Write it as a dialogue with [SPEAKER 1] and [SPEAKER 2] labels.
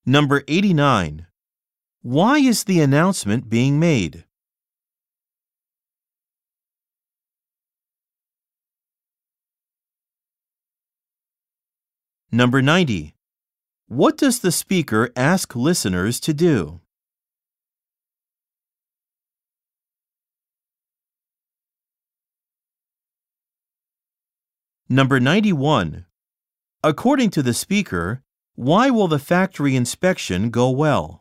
[SPEAKER 1] Number 89. Why is the announcement being made? Number 90. What does the speaker ask listeners to do? Number 91. According to the speaker, why will the factory inspection go well?